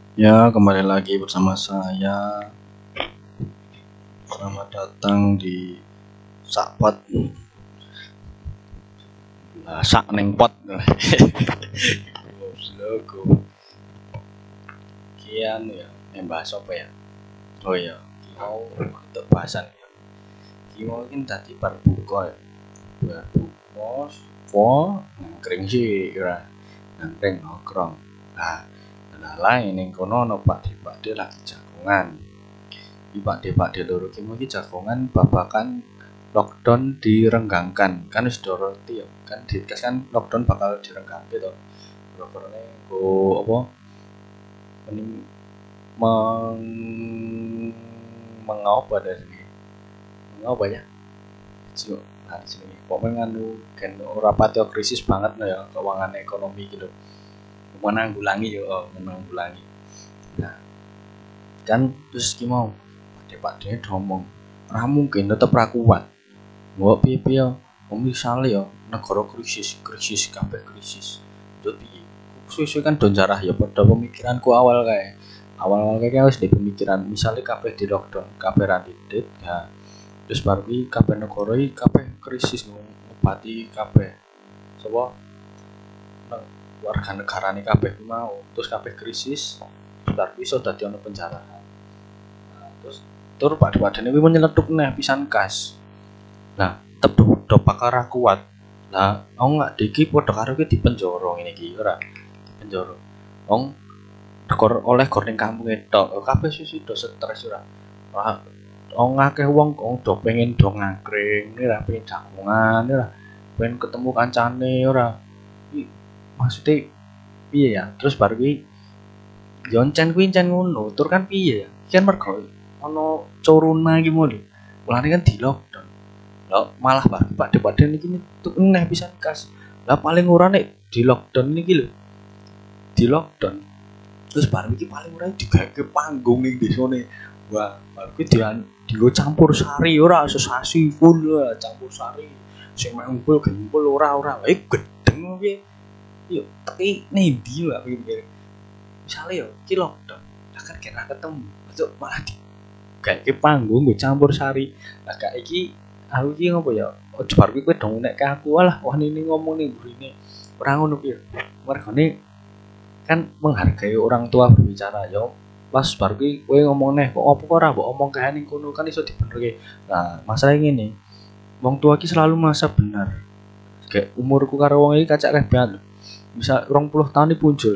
Ya, kembali lagi bersama saya. Selamat datang di Sakpot. Sak neng pot. Logo. Kian ya, bahas apa ya? Oh iya, mau untuk bahasan ya. Mau ini tadi berbuka ya. Berbuka, ngangkring sih, kira ngangkring nongkrong. Nah, lain yang kono no Pak De lagi jagongan. Pak De loro ki iki jagongan babakan lockdown direnggangkan. Kan wis doroti ya. Kan dikes kan lockdown bakal direnggangke to. Properne go apa mending mengapa dari sini. Mengapa ya? Cuk, nah sini. Pokoknya nganu kan ora patio krisis banget no ya keuangan ekonomi gitu. Menanggulangi yo, menanggulangi. Nah, kan terus ki mau Pak De ngomong, ora mungkin tetep ra kuat. Mbok piye-piye misale ya negara krisis kabeh krisis. Yo piye? Suwe-suwe kan do jarah ya padha pemikiranku awal kae. Awal-awal kae wis di pemikiran misale kabeh di lockdown, kabeh ra didit, ya terus bar kuwi kabeh negara iki kabeh krisis ngobati kabeh. Sapa warga negarane kabeh ku mau, terus kabeh krisis, bar iso dadi ana penjarahan. Nah, terus tur padha-padane kuwi menyeletuk neh pisan kas. Lah, tetep do pakar kuat. Lah, wong nggak diki padha karo ki dipenjara ngene iki ora. Dipenjara. Wong gor oleh gor ning kampunge tok. Kabeh sisi do stres ora. Wong akeh wong do pengen do ngangkring, ora pengen jagongan ora. Pengen ketemu kancane ora. Iki maksudnya piye ya? Terus bar kuwi yo encen ngono. Tur kan piye ya? Kan mergo ana corona iki mau lho. Mulane kan di lockdown. Lah malah Pak Depak niki tuh eneh pisan kas. Lah paling ora nek di lockdown niki lho. Di lockdown. Terus baru iki paling ora digawe panggung ning desone. Wah, baru iki dienggo campur sari ora sesasi full campur sari. Sing mek ngumpul ora. Gedeng piye. Yo teki nendi lho pikir. Misale yo iki lockdown. Lah kan kira ketemu. Masuk malah kayak panggung gue campur sari. Lah kayak iki aku iki ngopo ya? Ojo bar kuwi kowe dong nek ke aku alah wah ini ngomong ning burine. Ora ngono piye. Mergane kan menghargai orang tua berbicara yo. Pas bar kuwi kowe ngomong neh kok opo ora mbok omong kae ning kono kan iso dibenerke. Nah, masalah ngene. Wong tua iki selalu merasa benar. Kayak umurku karo wong iki kacak kabeh. Misal 20 tahun iki muncul.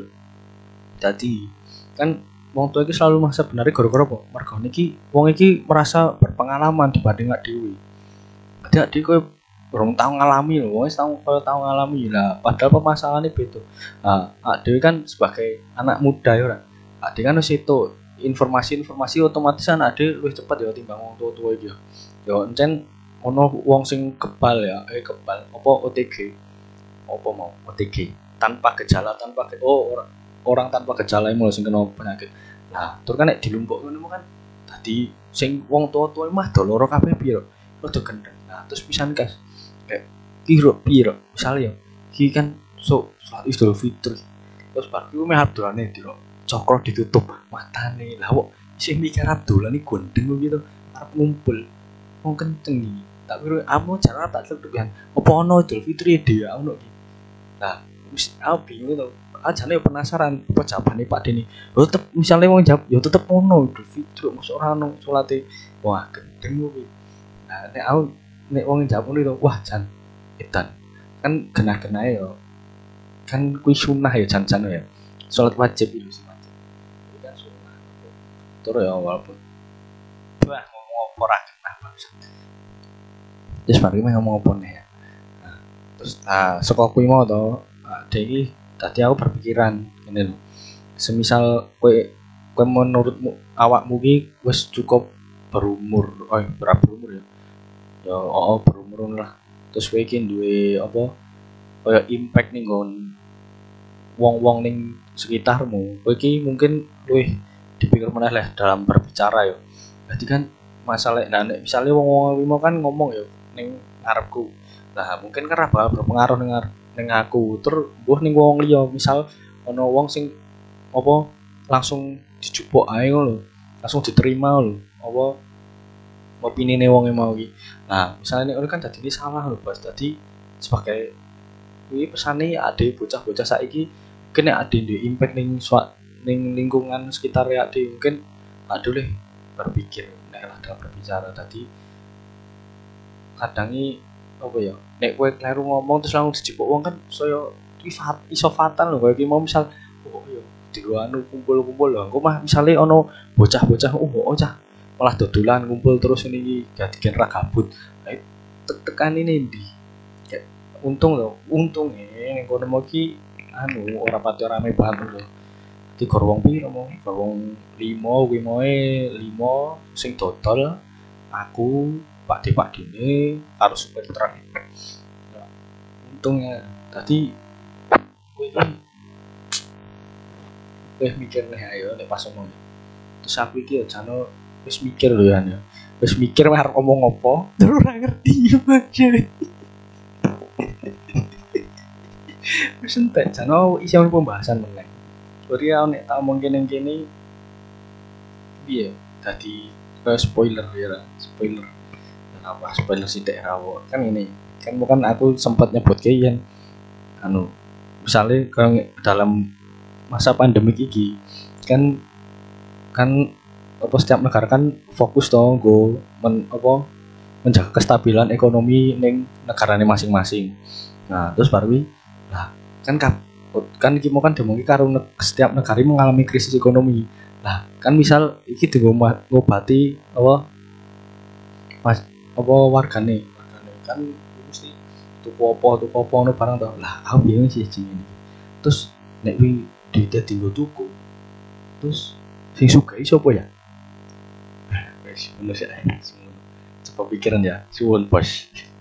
Jadi kan wong tua iki selalu merasa benar gara-gara apa? Mergo niki wong iki merasa berpengalaman dibanding gak dewi. Jadi kowe urung tau ngalami lho, wis tau ngalami lah. Padahal permasalahannya beda. Nah, dhewe kan sebagai anak muda ya ora. Dhewe kan wis itu informasi otomatis anak dhewe luwih cepet ya timbang wong tua-tua iki ya. Ya encen ono wong sing kebal ya, kebal apa OTG. Apa mau OTG tanpa gejala orang tanpa gejala mau sing kena penyakit. Nah, tur kan nek dilumpuk ngono kan dadi sing wong tua-tua mah do loro kabeh piye rada gendeng. Nah, terus pisan kas kayak piye misale ya iki kan salat Idul Fitri. Terus bar kuwi meh abdolane dilo cokro ditutup matane. Lah kok sing mikir abdolan iki gondeng gitu arep ngumpul. Wong kenceng iki. Tak kira amo jalan tak tetukan. Apa ono Idul Fitri dia ono iki. Nah, wis aku bingung to. Ajane penasaran apa jawabane Pak Deni. Yo tetep misale wong jawab yo tetep ono Idul Fitri mosok ora ono salate. Wah, gendeng kuwi. Nah, nek wong jawab ngono to, wah jan edan. Kan genah-genahe yo kan kuwi sunah ya jan-jan ya. Salat wajib itu sih wajib. Itu kan sunah. Tur ya walaupun wah ngomong apa ora genah bangsa. Terus mari ngomong apa nih ya. Nah, terus saka kuwi mau to, iki tadi aku berpikiran ngene lho. Semisal kowe menurutmu awakmu ki wis cukup berumur, berumur ya. Ya berumur lah. Terus kowe iki duwe apa kaya impact ning nggon wong-wong ning sekitarmu. Kowe iki mungkin luwih dipikir meneh lah dalam berbicara ya. Berarti kan masalah nah nek misale wong-wong limo kan ngomong ya ning ngarepku. Lah mungkin kan bakal berpengaruh ning aku. Terus mbuh ning wong liya, misal ana wong sing apa langsung dijupuk ae ngono lho. Langsung diterima lho. Apa opinine wong mau iki. Nah, misalnya nek kan dadine salah lho, Bos. Dadi sebagai kuwi pesane ade bocah-bocah saiki mungkin nek ade ndek impact ning lingkungan sekitar ade mungkin aduh le berpikir nek lah dalam berbicara tadi kadang apa ya nek kowe kleru ngomong terus langsung dijipuk wong kan saya iso fatal lho kowe iki mau misal oh ya digo anu kumpul-kumpul lho engko mah misale ono bocah-bocah oh cah malah dodolan kumpul terus ini iki gadiken ra gabut tekan ini ndi untung lho ning kono mau ki anu ora pati rame banget lho dadi gor wong piro mau gor wong 5 kuwi moe 5 sing dodol aku Pak Dine karo supir truk ya, untungnya tadi kowe mikir nih ayo nek pas ngomong terus aku iki ya jane wis mikir lho ya wis mikir arep ngomong apa terus ora ngerti maksud wis entek jane isi pembahasan meneh berarti nek tak omong kene piye dadi spoiler ya spoiler apa spoiler sithik rawo kan ini kan bukan aku sempat nyebut kayak anu misalnya kalau dalam masa pandemik iki kan apa setiap negara kan fokus toh go menjaga kestabilan ekonomi ning negarane masing-masing. Nah, terus baru lah kan iki mau kan demongi karo setiap negara mengalami krisis ekonomi. Lah, kan misal iki ngobati wargane kan mesti tuku apa ngono barang to. Lah, aku bingung sih jenenge iki. Terus nek wi duite dienggo tuku. Terus sing sugih sapa ya? Wis ngono sih. Coba pikiran ya. Suwun, Bos.